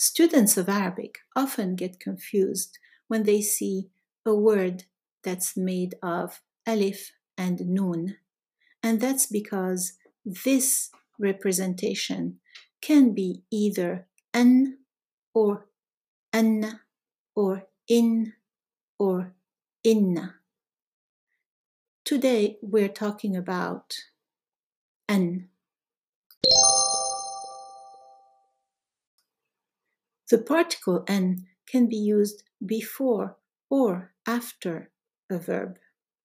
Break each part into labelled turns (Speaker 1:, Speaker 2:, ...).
Speaker 1: Students of Arabic often get confused when they see a word that's made of alif and nun, and that's because this representation can be either an or anna or in or inna. Today we're talking about an. The particle an can be used before or after a verb.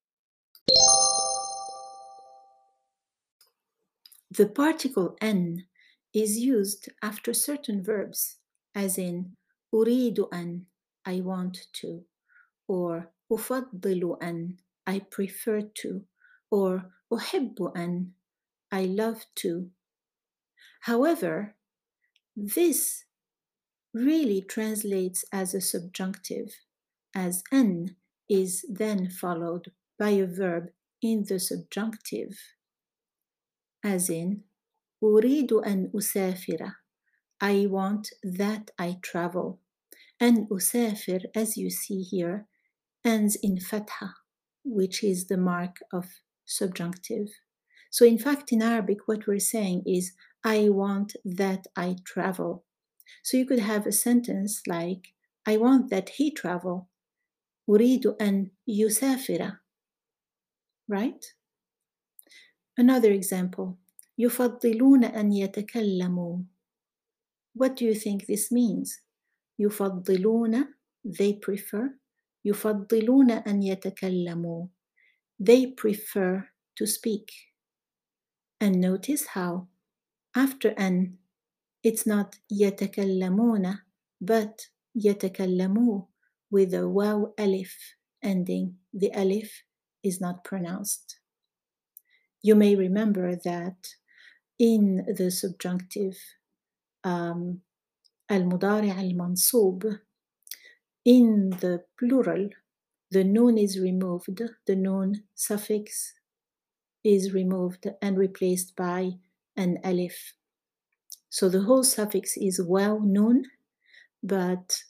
Speaker 1: The particle an is used after certain verbs, as in أريد أن, I want to, or أفضل أن, I prefer to, or أحب أن, I love to. However, this really translates as a subjunctive, as an is then followed by a verb in the subjunctive, as in أريد أن أسافر, I want that I travel. أن أسافر, as you see here, ends in fatha, which is the mark of subjunctive. So in fact, in Arabic, what we're saying is, I want that I travel. So you could have a sentence like, I want that he travel. أريد أن يسافر. Right? Another example. يفضلون أن يتكلموا. What do you think this means? يفضلون, they prefer. يفضلون أن يتكلموا. They prefer to speak. And notice how after أن, it's not يتكلمون, but يتكلموا with a waw alif ending. The alif is not pronounced. You may remember that in the subjunctive المضارع المنصوب, in the plural, the nun is removed, the nun suffix is removed and replaced by an alif. So the whole suffix is waw nun, but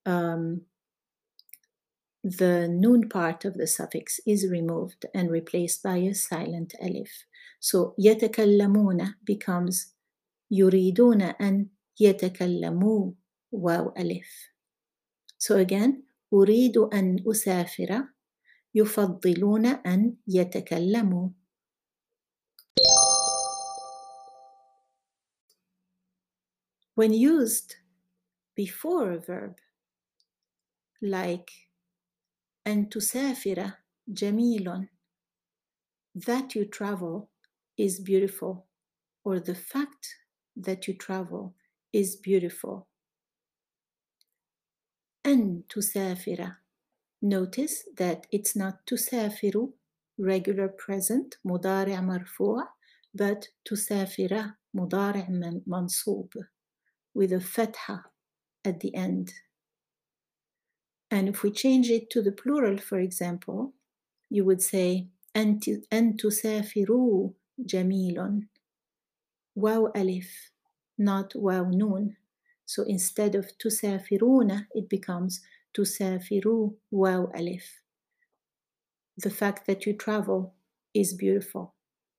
Speaker 1: the nun part of the suffix is removed and replaced by a silent alif. So يتكلمون becomes يريدون أن يتكلموا واو ألف. So again, أريد أن أسافر, يفضلون أن يتكلموا. When used before a verb, like أن تسافر جميل, that you travel is beautiful, or the fact that you travel is beautiful. أن تسافر, notice that it's not تسافر, regular present, مضارع مرفوع, but تسافر, مضارع منصوب, with a fatha at the end. And if we change it to the plural, for example, you would say أن تسافروا جميل, واو ألف, not واو نون. So instead of تسافرون, it becomes تسافروا واو ألف. The fact that you travel is beautiful.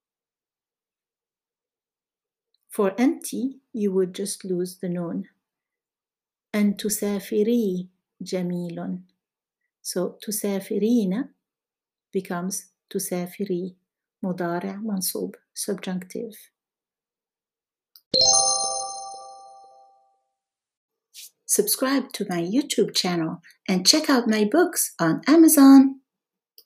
Speaker 1: For أنتِ, you would just lose the nun. أن تسافري جميل. So تسافرين becomes تسافري, مضارع منصوب, subjunctive. Subscribe to my YouTube channel and check out my books on Amazon.